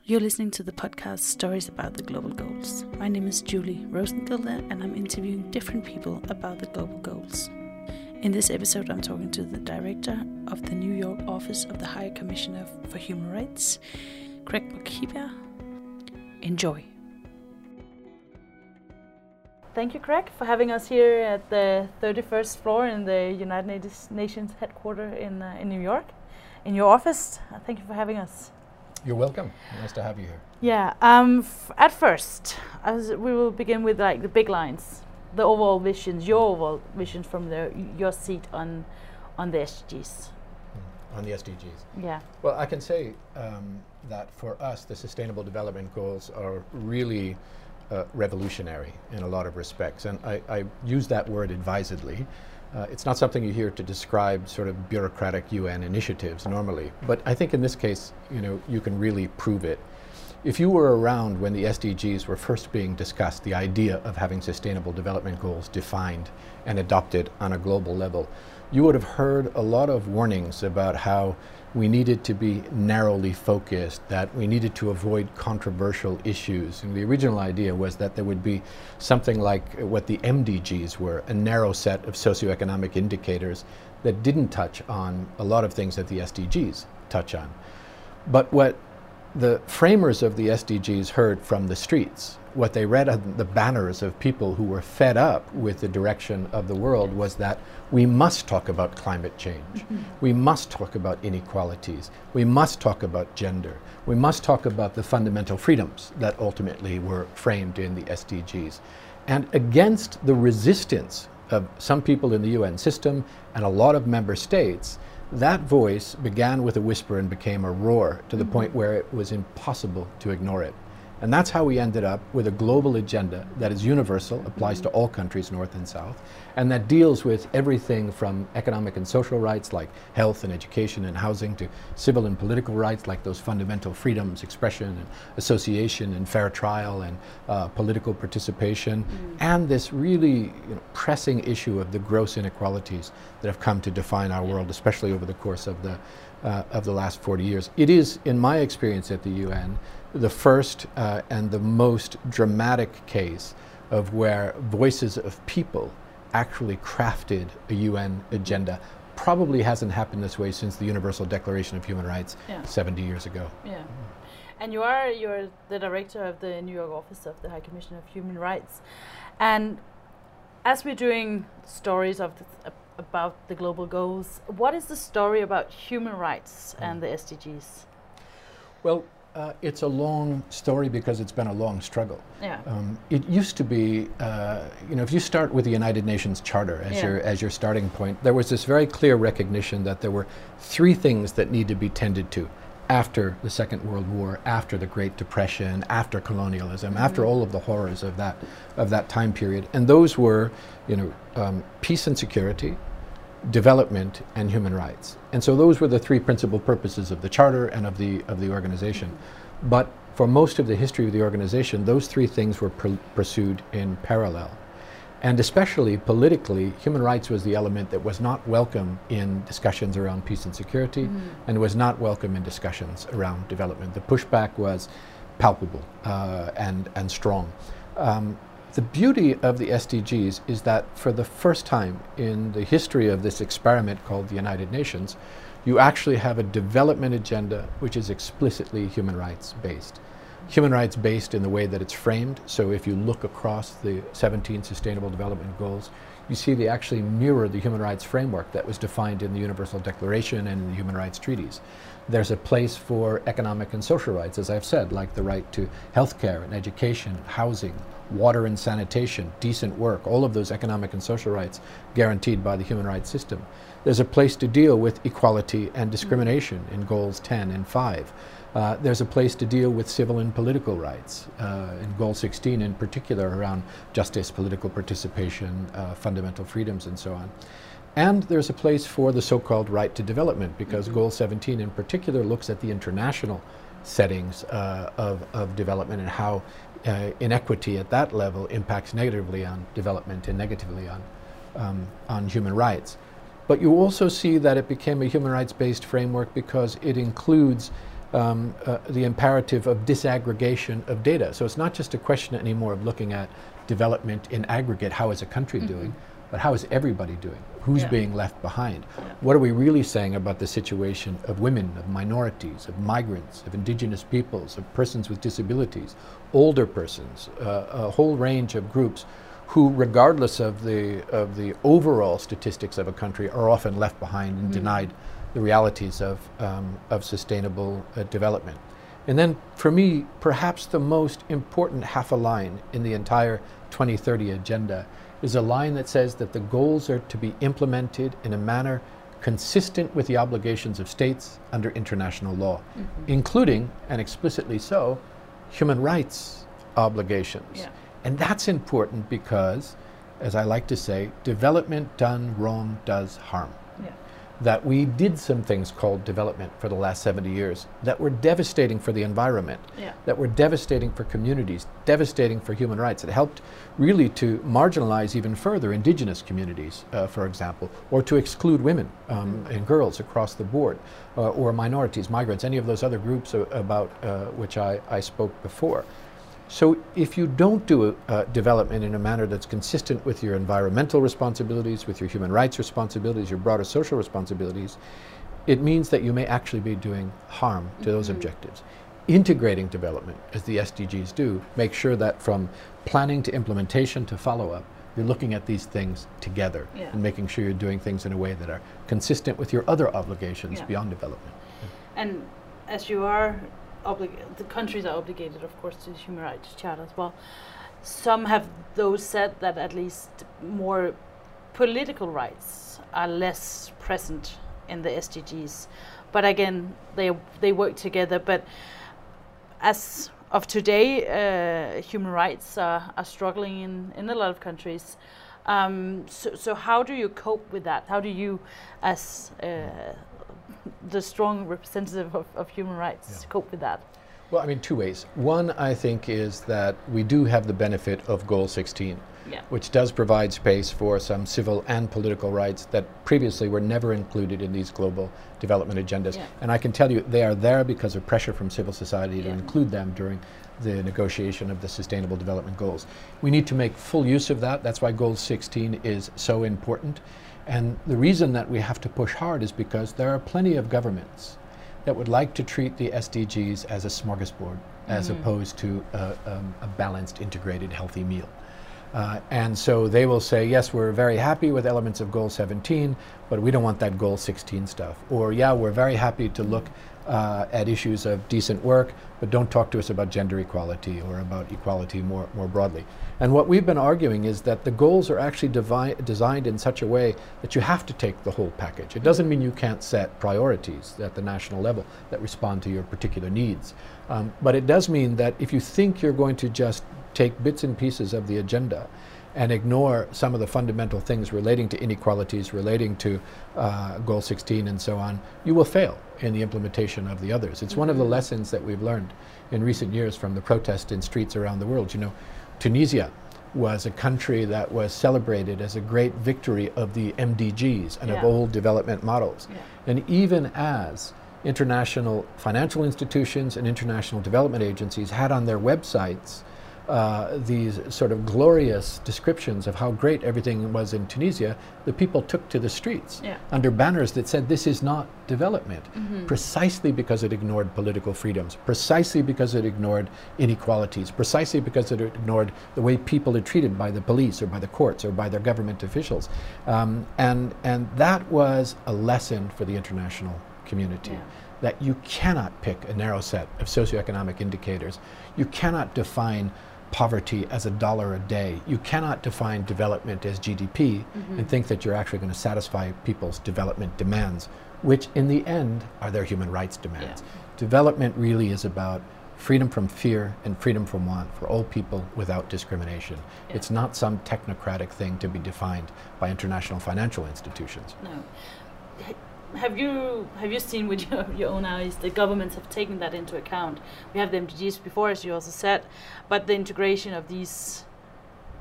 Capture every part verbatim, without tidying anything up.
You're listening to the podcast Stories About the Global Goals. My name is Julie Rosengilde and I'm interviewing different people about the global goals. In this episode, I'm talking to the director of the New York office of the High Commissioner for Human Rights, Craig McKeever. Enjoy. Thank you, Craig, for having us here at the thirty-first floor in the United Nations headquarters in, uh, in New York, in your office. Uh, thank you for having us. You're welcome. Nice to have you here. Yeah. Um, f- at first, as we will begin with like the big lines, the overall visions, your overall visions from the your seat on on the S D Gs. Mm. On the S D Gs. Yeah. Well, I can say um, that for us, the Sustainable Development Goals are really uh, revolutionary in a lot of respects, and I, I use that word advisedly. Uh, it's not something you hear to describe sort of bureaucratic U N initiatives normally, but I think in this case, you know, you can really prove it. If you were around when the S D Gs were first being discussed, the idea of having Sustainable Development Goals defined and adopted on a global level, you would have heard a lot of warnings about how we needed to be narrowly focused, that we needed to avoid controversial issues. And the original idea was that there would be something like what the M D Gs were, a narrow set of socioeconomic indicators that didn't touch on a lot of things that the S D Gs touch on. But what the framers of the S D Gs heard from the streets, what they read on the banners of people who were fed up with the direction of the world, was that we must talk about climate change. Mm-hmm. We must talk about inequalities. We must talk about gender. We must talk about the fundamental freedoms that ultimately were framed in the S D Gs. And against the resistance of some people in the U N system and a lot of member states, that voice began with a whisper and became a roar to the mm-hmm. point where it was impossible to ignore it. And that's how we ended up with a global agenda that is universal, applies mm-hmm. to all countries, north and south, and that deals with everything from economic and social rights like health and education and housing to civil and political rights like those fundamental freedoms, expression and association and fair trial and uh, political participation, mm-hmm. and this really you know, pressing issue of the gross inequalities that have come to define our world, especially over the course of the, uh, of the last forty years. It is, in my experience at the U N, the first uh, and the most dramatic case of where voices of people actually crafted a U N agenda. Probably hasn't happened this way since the Universal Declaration of Human Rights yeah. seventy years ago. Yeah. Mm. And you are you're the director of the New York office of the High Commissioner of Human Rights. And as we're doing stories of the, uh, about the global goals, what is the story about human rights mm. and the S D Gs? Well, Uh, it's a long story because it's been a long struggle. Yeah. Um, it used to be, uh, you know, if you start with the United Nations Charter as yeah. your as your starting point, there was this very clear recognition that there were three things that need to be tended to after the Second World War, after the Great Depression, after colonialism, mm-hmm. after all of the horrors of that of that time period, and those were, you know, um, peace and security, development, and human rights. And so those were the three principal purposes of the Charter and of the of the organization. Mm-hmm. But for most of the history of the organization, those three things were pr- pursued in parallel. And especially politically, human rights was the element that was not welcome in discussions around peace and security, mm-hmm. and was not welcome in discussions around development. The pushback was palpable uh, and, and strong. Um, The beauty of the S D Gs is that for the first time in the history of this experiment called the United Nations, you actually have a development agenda which is explicitly human rights based. Human rights based in the way that it's framed. So if you look across the seventeen Sustainable Development Goals, you see they actually mirror the human rights framework that was defined in the Universal Declaration and in the human rights treaties. There's a place for economic and social rights, as I've said, like the right to healthcare and education, housing, water and sanitation, decent work, all of those economic and social rights guaranteed by the human rights system. There's a place to deal with equality and discrimination in goals ten and five. Uh, there's a place to deal with civil and political rights, uh, in goal sixteen in particular around justice, political participation, uh, fundamental freedoms and so on. And there's a place for the so-called right to development, because mm-hmm. goal seventeen in particular looks at the international settings uh, of, of development and how Uh, inequity at that level impacts negatively on development and negatively on, um, on human rights. But you also see that it became a human rights-based framework because it includes um, uh, the imperative of disaggregation of data. So it's not just a question anymore of looking at development in aggregate, how is a country mm-hmm. doing, but how is everybody doing? Who's yeah. being left behind? Yeah. What are we really saying about the situation of women, of minorities, of migrants, of indigenous peoples, of persons with disabilities, older persons, uh, a whole range of groups who, regardless of the, of the overall statistics of a country, are often left behind and mm-hmm. denied the realities of, um, of sustainable uh, development. And then, for me, perhaps the most important half a line in the entire twenty thirty agenda is a line that says that the goals are to be implemented in a manner consistent with the obligations of states under international law, mm-hmm. including, and explicitly so, human rights obligations. Yeah. And that's important because, as I like to say, development done wrong does harm. Yeah. That we did some things called development for the last seventy years that were devastating for the environment, yeah. that were devastating for communities, devastating for human rights. It helped really to marginalize even further indigenous communities, uh, for example, or to exclude women um, mm-hmm. and girls across the board, uh, or minorities, migrants, any of those other groups uh, about uh, which I, I spoke before. So if you don't do uh, development in a manner that's consistent with your environmental responsibilities, with your human rights responsibilities, your broader social responsibilities, it means that you may actually be doing harm to mm-hmm. those objectives. Integrating development, as the S D Gs do, make sure that from planning to implementation to follow-up, you're looking at these things together yeah. and making sure you're doing things in a way that are consistent with your other obligations yeah. beyond development. Yeah. And as you are Oblig the countries are obligated, of course, to the Human Rights Charter as well. Some have those said that at least more political rights are less present in the S D Gs. But again, they they work together. But as of today, uh, human rights are, are struggling in, in a lot of countries. Um, so, so how do you cope with that? How do you, as uh, the strong representative of, of human rights, yeah. cope with that? Well, I mean, two ways. One, I think, is that we do have the benefit of Goal sixteen, yeah. which does provide space for some civil and political rights that previously were never included in these global development agendas. Yeah. And I can tell you they are there because of pressure from civil society yeah. to include them during the negotiation of the Sustainable Development Goals. We need to make full use of that. That's why Goal sixteen is so important. And the reason that we have to push hard is because there are plenty of governments that would like to treat the S D Gs as a smorgasbord, mm-hmm. as opposed to uh, um, a balanced, integrated, healthy meal. Uh, and so they will say, yes, we're very happy with elements of Goal seventeen, but we don't want that Goal sixteen stuff. Or, yeah, we're very happy to look uh, at issues of decent work, but don't talk to us about gender equality or about equality more, more broadly. And what we've been arguing is that the goals are actually designed in such a way that you have to take the whole package. It doesn't mean you can't set priorities at the national level that respond to your particular needs. Um, but it does mean that if you think you're going to just take bits and pieces of the agenda and ignore some of the fundamental things relating to inequalities, relating to uh, Goal sixteen and so on, you will fail in the implementation of the others. It's mm-hmm. one of the lessons that we've learned in recent years from the protests in streets around the world. You know, Tunisia was a country that was celebrated as a great victory of the M D Gs and yeah. of old development models. Yeah. And even as international financial institutions and international development agencies had on their websites Uh, these sort of glorious descriptions of how great everything was in Tunisia, the people took to the streets yeah. under banners that said this is not development, mm-hmm. precisely because it ignored political freedoms, precisely because it ignored inequalities, precisely because it ignored the way people are treated by the police or by the courts or by their government officials. Um, and, and that was a lesson for the international community. Yeah. That you cannot pick a narrow set of socioeconomic indicators. You cannot define poverty as a dollar a day. You cannot define development as G D P mm-hmm. and think that you're actually going to satisfy people's development demands, which in the end are their human rights demands. Yeah. Development really is about freedom from fear and freedom from want for all people without discrimination. Yeah. It's not some technocratic thing to be defined by international financial institutions. No. Have you have you seen with your, your own eyes the governments have taken that into account? We have the M D Gs before, as you also said, but the integration of these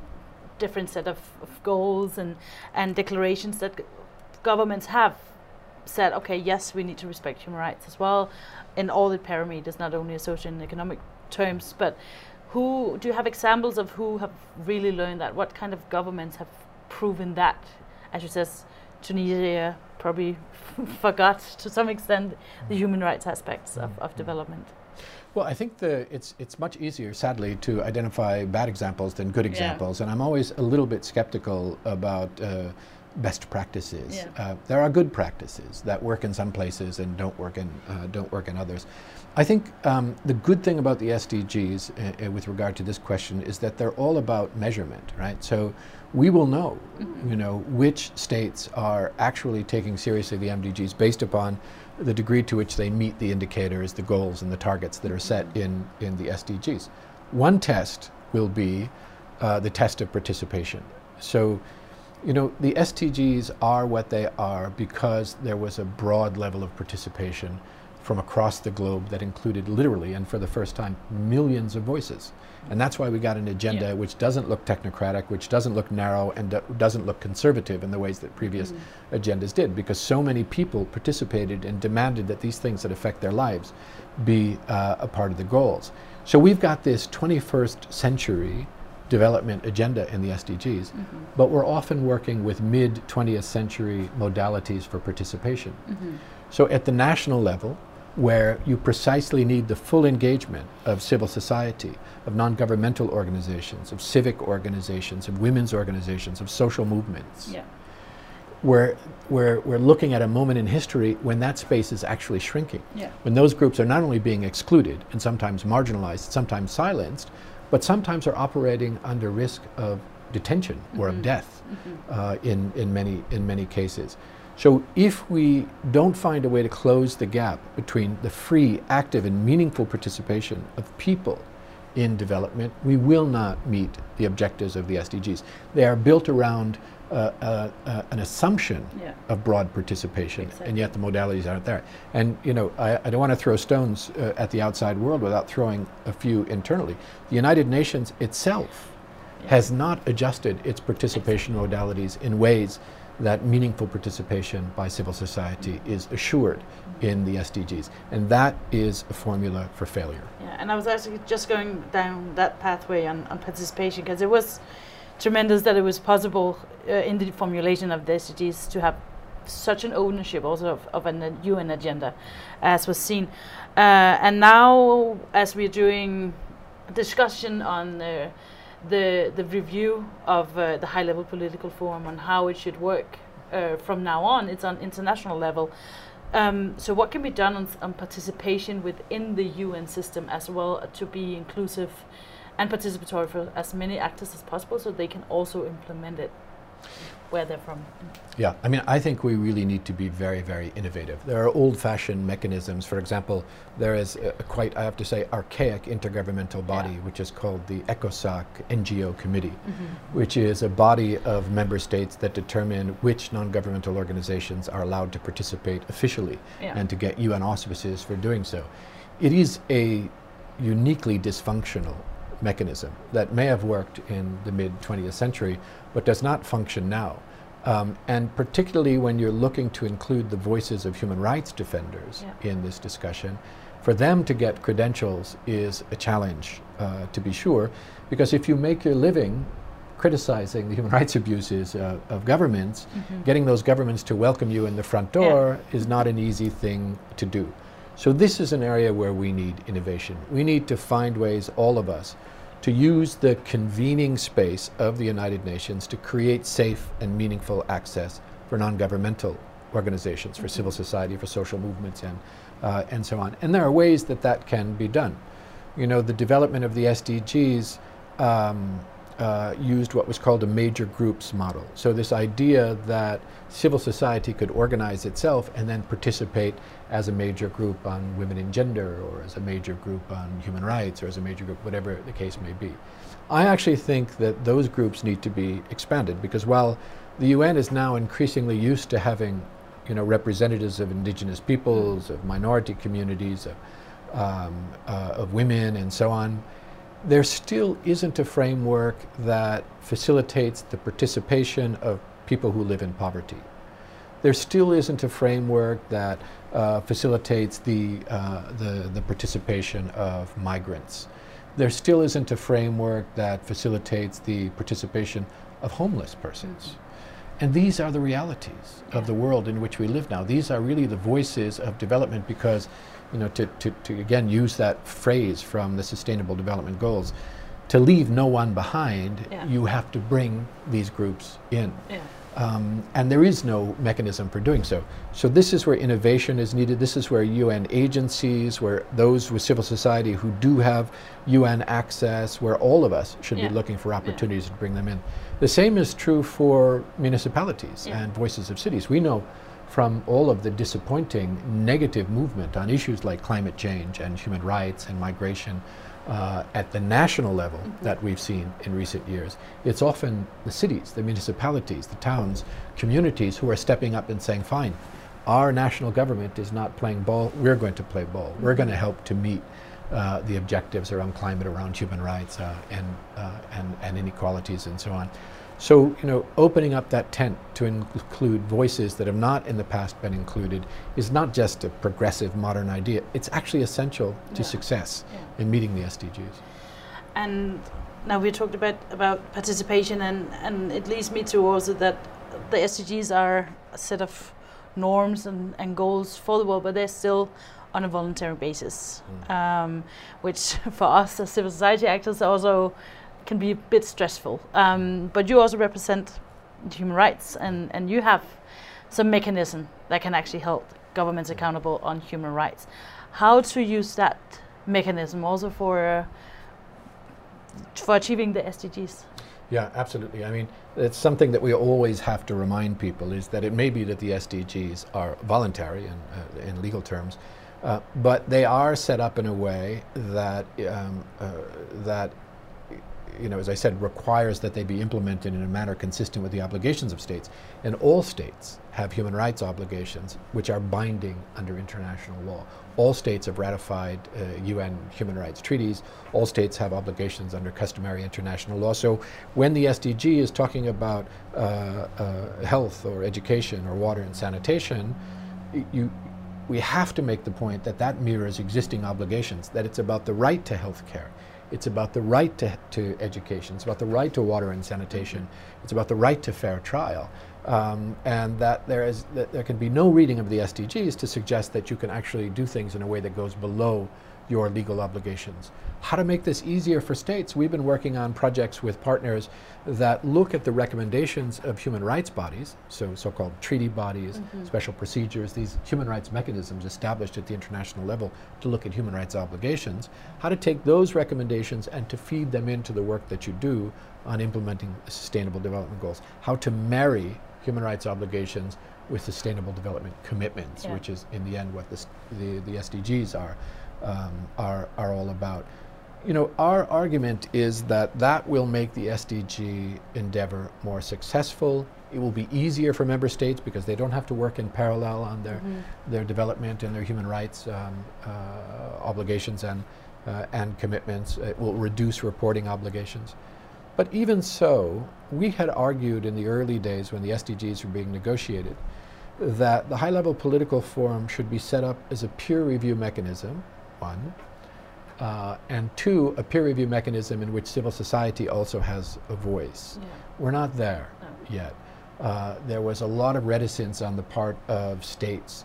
different set of, of goals and, and declarations that g- governments have said, okay, yes, we need to respect human rights as well in all the parameters, not only social and economic terms, but who do you have examples of who have really learned that? What kind of governments have proven that? As you says, Tunisia probably forgot to some extent the human rights aspects of, of development. Well, I think the, it's, it's much easier, sadly, to identify bad examples than good examples. Yeah. And I'm always a little bit skeptical about uh, best practices. Yeah. Uh, there are good practices that work in some places and don't work in, uh, don't work in others. I think um, the good thing about the S D Gs uh, uh, with regard to this question is that they're all about measurement, right? So we will know, mm-hmm. you know, which states are actually taking seriously the M D Gs based upon the degree to which they meet the indicators, the goals, and the targets that are set in, in the S D Gs. One test will be uh, the test of participation. So, you know, the S D Gs are what they are because there was a broad level of participation from across the globe that included literally, and for the first time, millions of voices. And that's why we got an agenda yeah. which doesn't look technocratic, which doesn't look narrow, and do doesn't look conservative in the ways that previous mm-hmm. agendas did, because so many people participated and demanded that these things that affect their lives be uh, a part of the goals. So we've got this twenty-first century development agenda in the S D Gs, mm-hmm. but we're often working with mid twentieth century modalities for participation. Mm-hmm. So at the national level, where you precisely need the full engagement of civil society, of non-governmental organizations, of civic organizations, of women's organizations, of social movements. Yeah. We're, we're, we're looking at a moment in history when that space is actually shrinking. Yeah. When those groups are not only being excluded and sometimes marginalized, sometimes silenced, but sometimes are operating under risk of detention mm-hmm. or of death mm-hmm. uh, in, in, many, in many cases. So if we don't find a way to close the gap between the free, active, and meaningful participation of people in development, we will not meet the objectives of the S D Gs. They are built around uh, uh, uh, an assumption yeah. of broad participation, exactly. and yet the modalities aren't there. And you know, I, I don't want to throw stones uh, at the outside world without throwing a few internally. The United Nations itself yeah. has not adjusted its participation exactly. modalities in ways that meaningful participation by civil society is assured mm-hmm. in the S D Gs. And that is a formula for failure. Yeah, and I was actually just going down that pathway on, on participation, because it was tremendous that it was possible uh, in the formulation of the S D Gs to have such an ownership also of, of an uh, U N agenda, as was seen. Uh, and now, as we're doing a discussion on uh, the the review of uh, the high-level political forum on how it should work uh, from now on, it's on international level. Um, so what can be done on, on participation within the U N system as well, uh, to be inclusive and participatory for as many actors as possible, so they can also implement it where they're from? Yeah, I mean, I think we really need to be very, very innovative. There are old-fashioned mechanisms. For example, there is a, a quite, I have to say, archaic intergovernmental body, yeah. which is called the ECOSOC N G O Committee, mm-hmm. which is a body of member states that determine which non-governmental organizations are allowed to participate officially yeah. and to get U N auspices for doing so. It is a uniquely dysfunctional mechanism that may have worked in the mid twentieth century, but does not function now. Um, and particularly when you're looking to include the voices of human rights defenders yeah. in this discussion, for them to get credentials is a challenge, uh, to be sure, because if you make your living criticizing the human rights abuses uh, of governments, mm-hmm. getting those governments to welcome you in the front door yeah. is not an easy thing to do. So this is an area where we need innovation. We need to find ways, all of us, to use the convening space of the United Nations to create safe and meaningful access for non-governmental organizations, for mm-hmm. civil society, for social movements, and, uh, and so on. And there are ways that that can be done. You know, the development of the S D Gs um, uh, used what was called a major groups model. So this idea that civil society could organize itself and then participate as a major group on women and gender, or as a major group on human rights, or as a major group, whatever the case may be. I actually think that those groups need to be expanded, because while the U N is now increasingly used to having, you know, representatives of indigenous peoples, of minority communities, of, um, uh, of women, and so on, there still isn't a framework that facilitates the participation of people who live in poverty. there still isn't a framework that uh, facilitates the, uh, the, the participation of migrants. There still isn't a framework that facilitates the participation of homeless persons. Mm-hmm. And these are the realities yeah. of the world in which we live now. These are really the voices of development because, you know, to, to, to again use that phrase from the Sustainable Development Goals, to leave no one behind, yeah. you have to bring these groups in. Yeah. Um, and there is no mechanism for doing so. So this is where innovation is needed. This is where U N agencies, where those with civil society who do have U N access, where all of us should yeah. be looking for opportunities yeah. to bring them in. The same is true for municipalities yeah. and voices of cities. We know from all of the disappointing negative movement on issues like climate change and human rights and migration Uh, at the national level mm-hmm. that we've seen in recent years, it's often the cities, the municipalities, the towns, communities who are stepping up and saying, fine, our national government is not playing ball, we're going to play ball. Mm-hmm. We're going to help to meet uh, the objectives around climate, around human rights uh, and, uh, and, and inequalities and so on. So, you know, opening up that tent to include voices that have not in the past been included is not just a progressive modern idea. It's actually essential to yeah. success yeah. in meeting the S D Gs. And now we talked about, about participation, and, and it leads me to also that the S D Gs are a set of norms and, and goals for the world, but they're still on a voluntary basis, mm. um, which for us as civil society actors also can be a bit stressful. Um, but you also represent human rights, and, and you have some mechanism that can actually help governments accountable on human rights. How to use that mechanism also for uh, for achieving the S D Gs? Yeah, absolutely. I mean, it's something that we always have to remind people, is that it may be that the S D Gs are voluntary in, uh, in legal terms, uh, but they are set up in a way that um, uh, that you know, as I said, requires that they be implemented in a manner consistent with the obligations of states. And all states have human rights obligations which are binding under international law. All states have ratified uh, U N human rights treaties. All states have obligations under customary international law. So when the S D G is talking about uh, uh, health or education or water and sanitation, you, we have to make the point that that mirrors existing obligations, that it's about the right to health care. It's about the right to, to education. It's about the right to water and sanitation. It's about the right to fair trial. Um, and that there is that there can be no reading of the S D Gs to suggest that you can actually do things in a way that goes below your legal obligations. How to make this easier for states? We've been working on projects with partners that look at the recommendations of human rights bodies, so so-called treaty bodies, mm-hmm. special procedures, these human rights mechanisms established at the international level to look at human rights obligations, how to take those recommendations and to feed them into the work that you do on implementing the Sustainable Development Goals, how to marry human rights obligations with Sustainable Development commitments, yeah. which is in the end what this, the, the S D Gs are. Um, are, are all about. You know, our argument is that that will make the S D G endeavor more successful. It will be easier for member states because they don't have to work in parallel on their, mm-hmm. their development and their human rights um, uh, obligations and, uh, and commitments. It will reduce reporting obligations. But even so, we had argued in the early days when the S D Gs were being negotiated that the high-level political forum should be set up as a peer review mechanism, one, uh, and two, a peer review mechanism in which civil society also has a voice. Yeah. We're not there no. yet. Uh, there was a lot of reticence on the part of states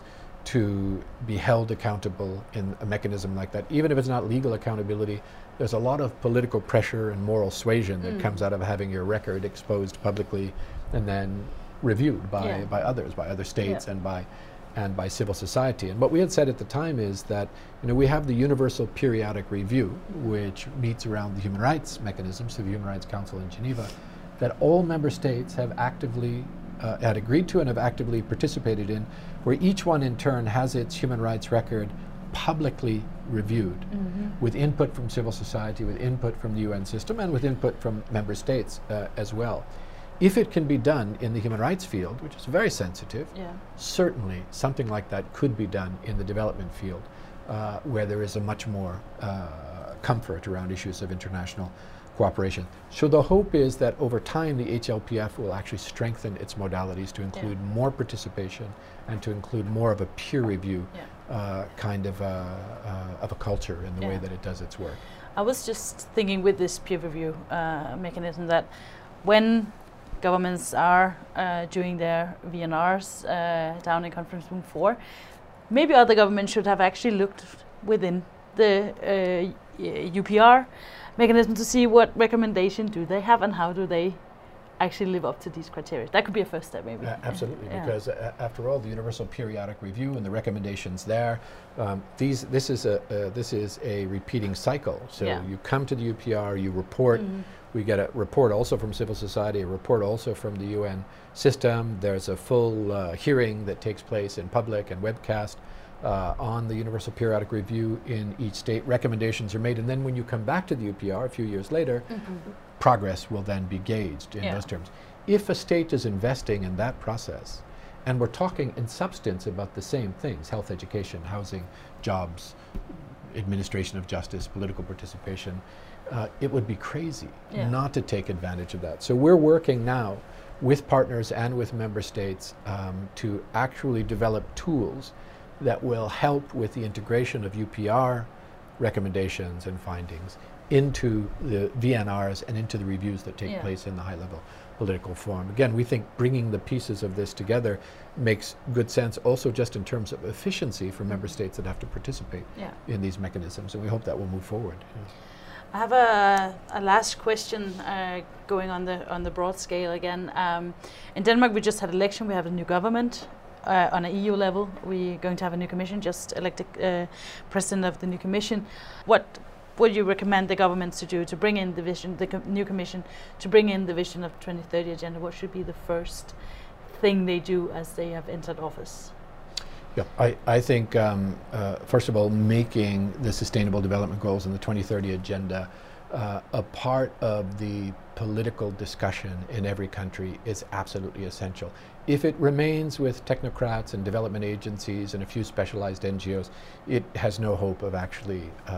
to be held accountable in a mechanism like that. Even if it's not legal accountability, there's a lot of political pressure and moral suasion that mm. comes out of having your record exposed publicly and then reviewed by, yeah. by others, by other states yeah. and by and by civil society. And what we had said at the time is that, you know, we have the Universal Periodic Review, which meets around the human rights mechanisms through the Human Rights Council in Geneva, that all member states have actively uh, had agreed to and have actively participated in, where each one in turn has its human rights record publicly reviewed mm-hmm. with input from civil society, with input from the U N system, and with input from member states uh, as well. If it can be done in the human rights field, which is very sensitive, yeah. certainly something like that could be done in the development field, uh, where there is a much more uh, comfort around issues of international cooperation. So the hope is that over time the H L P F will actually strengthen its modalities to include yeah. more participation and to include more of a peer review yeah. uh, kind of a, uh, of a culture in the yeah. way that it does its work. I was just thinking with this peer review uh, mechanism that when governments are uh, doing their V N Rs uh, down in conference room four, maybe other governments should have actually looked within the uh, U P R mechanism to see what recommendation do they have and how do they actually live up to these criteria. That could be a first step, maybe. Uh, absolutely, yeah. because uh, after all, the Universal Periodic Review and the recommendations there, um, these this is a uh, this is a repeating cycle. So yeah. you come to the U P R, you report. Mm-hmm. We get a report also from civil society, a report also from the U N system. There's a full uh, hearing that takes place in public and webcast uh, on the Universal Periodic Review in each state. Recommendations are made, and then when you come back to the U P R a few years later, mm-hmm. progress will then be gauged in yeah. those terms. If a state is investing in that process, and we're talking in substance about the same things, health, education, housing, jobs, administration of justice, political participation, uh, it would be crazy yeah. not to take advantage of that. So we're working now with partners and with member states um, to actually develop tools that will help with the integration of U P R recommendations and findings into the V N Rs and into the reviews that take yeah. place in the high-level political forum. Again, we think bringing the pieces of this together makes good sense also just in terms of efficiency for member states that have to participate yeah. in these mechanisms, and we hope that will move forward. Yeah. I have a, a last question uh, going on the on the broad scale again. Um, in Denmark, we just had election. We have a new government. Uh, on an E U level, we're going to have a new commission, just elected uh, president of the new commission. What would you recommend the governments to do to bring in the vision, the com new commission, to bring in the vision of twenty thirty agenda? What should be the first thing they do as they have entered office? Yeah, I, I think, um, uh, first of all, making the Sustainable Development Goals and the twenty thirty agenda uh, a part of the political discussion in every country is absolutely essential. If it remains with technocrats and development agencies and a few specialized N G Os, it has no hope of actually uh,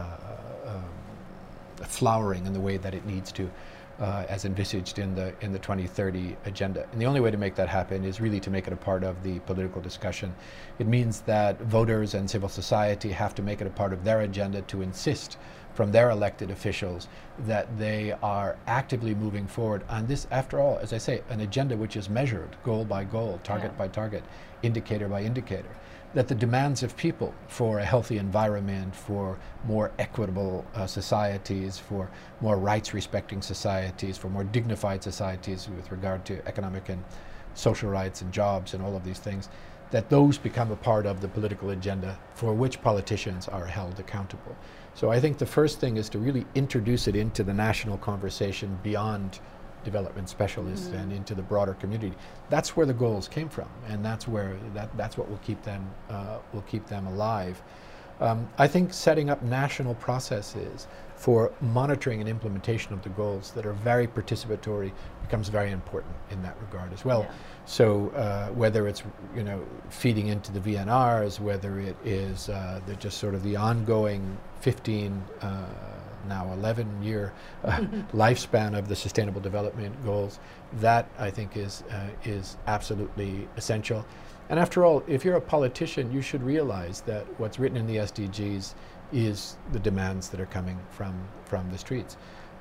um, flowering in the way that it needs to, uh, as envisaged in the in the twenty thirty agenda. And the only way to make that happen is really to make it a part of the political discussion. It means that voters and civil society have to make it a part of their agenda to insist from their elected officials that they are actively moving forward on this, after all, as I say, an agenda which is measured goal by goal, target yeah. by target, indicator by indicator, that the demands of people for a healthy environment, for more equitable uh, societies, for more rights-respecting societies, for more dignified societies with regard to economic and social rights and jobs and all of these things, that those become a part of the political agenda for which politicians are held accountable. So I think the first thing is to really introduce it into the national conversation beyond development specialists mm-hmm. and into the broader community. That's where the goals came from, and that's where that that's what will keep them uh, will keep them alive. Um, I think setting up national processes for monitoring and implementation of the goals that are very participatory becomes very important in that regard as well. Yeah. So uh, whether it's you know feeding into the V N Rs, whether it is uh, the just sort of the ongoing fifteen uh, now eleven year uh, lifespan of the Sustainable Development Goals, that I think is uh, is absolutely essential. And after all, if you're a politician, you should realize that what's written in the S D Gs is the demands that are coming from from the streets.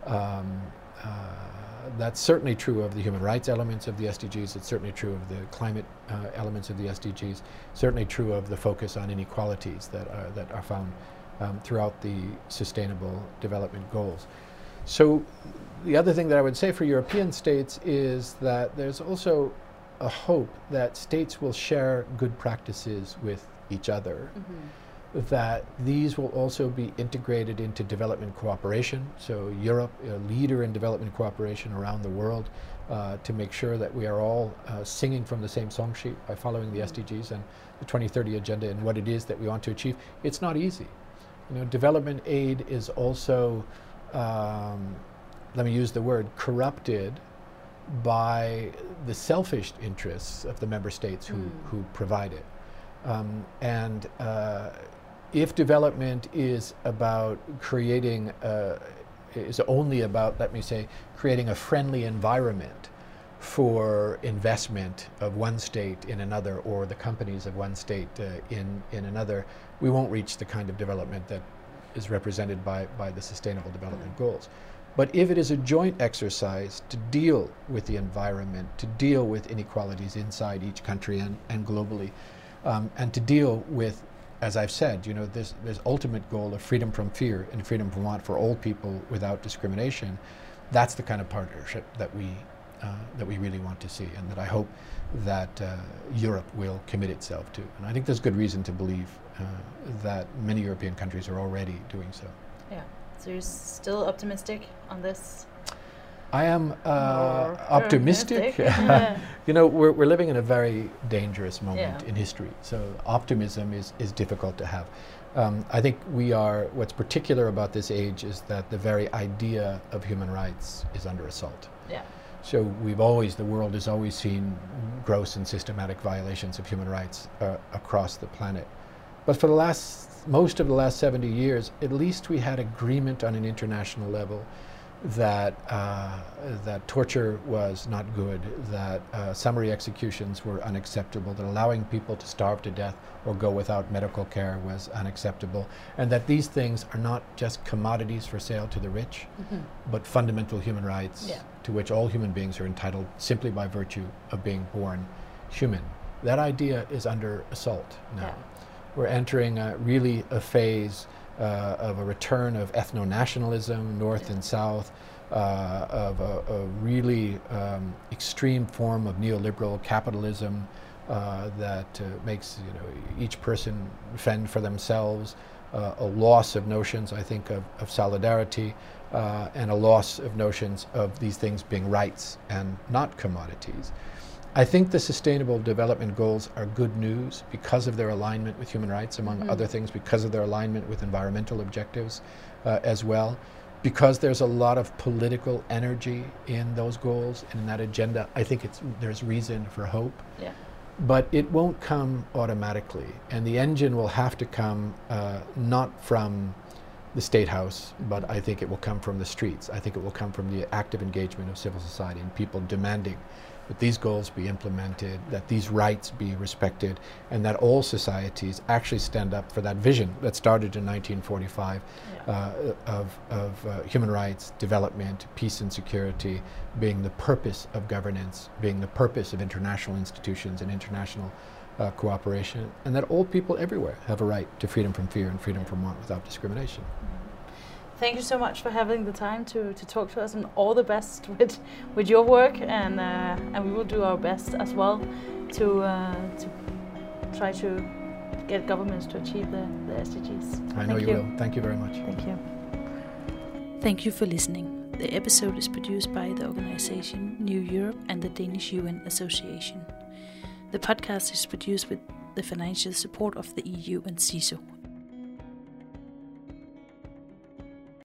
Um, uh, that's certainly true of the human rights elements of the S D Gs. It's certainly true of the climate uh, elements of the S D Gs. Certainly true of the focus on inequalities that are that are found um, throughout the Sustainable Development Goals. So, the other thing that I would say for European states is that there's also a hope that states will share good practices with each other, mm-hmm. that these will also be integrated into development cooperation. So Europe, a leader in development cooperation around the world, uh, to make sure that we are all uh, singing from the same song sheet by following the mm-hmm. S D Gs and the twenty thirty agenda and what it is that we want to achieve. It's not easy. You know, development aid is also, um, let me use the word, corrupted by the selfish interests of the member states who, mm. who provide it. Um, and uh, if development is about creating uh, is only about, let me say, creating a friendly environment for investment of one state in another, or the companies of one state uh, in, in another, we won't reach the kind of development that is represented by, by the Sustainable Development mm. Goals. But if it is a joint exercise to deal with the environment, to deal with inequalities inside each country and, and globally, um, and to deal with, as I've said, you know, this, this ultimate goal of freedom from fear and freedom from want for all people without discrimination, that's the kind of partnership that we Uh, that we really want to see, and that I hope that uh, Europe will commit itself to. And I think there's good reason to believe uh, that many European countries are already doing so. Yeah. So you're still optimistic on this? I am uh, optimistic. Yeah. You know, we're, we're living in a very dangerous moment yeah. in history, so optimism is, is difficult to have. Um, I think we are, what's particular about this age is that the very idea of human rights is under assault. Yeah. So we've always, the world has always seen gross and systematic violations of human rights uh, across the planet. But for the last, most of the last seventy years, at least we had agreement on an international level that, uh, that torture was not good, that uh, summary executions were unacceptable, that allowing people to starve to death or go without medical care was unacceptable, and that these things are not just commodities for sale to the rich, mm-hmm. but fundamental human rights yeah. to which all human beings are entitled simply by virtue of being born human. That idea is under assault now. Yeah. We're entering uh, really a phase Uh, of a return of ethno-nationalism, north yeah. and south, uh, of a, a really um, extreme form of neoliberal capitalism uh, that uh, makes you know each person fend for themselves, uh, a loss of notions, I think, of, of solidarity, uh, and a loss of notions of these things being rights and not commodities. I think the Sustainable Development Goals are good news because of their alignment with human rights, among mm-hmm. other things, because of their alignment with environmental objectives uh, as well, because there's a lot of political energy in those goals and in that agenda. I think it's, there's reason for hope. Yeah. But it won't come automatically, and the engine will have to come uh, not from the State House, but I think it will come from the streets. I think it will come from the active engagement of civil society and people demanding that these goals be implemented, that these rights be respected, and that all societies actually stand up for that vision that started in nineteen forty-five yeah. uh, of, of uh, human rights, development, peace and security being the purpose of governance, being the purpose of international institutions and international uh, cooperation, and that all people everywhere have a right to freedom from fear and freedom from want without discrimination. Thank you so much for having the time to, to talk to us, and all the best with with your work, and uh, and we will do our best as well to uh, to try to get governments to achieve the, the S D Gs. I know you, you will. Thank you very much. Thank you. Thank you for listening. The episode is produced by the organization New Europe and the Danish U N Association. The podcast is produced with the financial support of the E U and C I S O.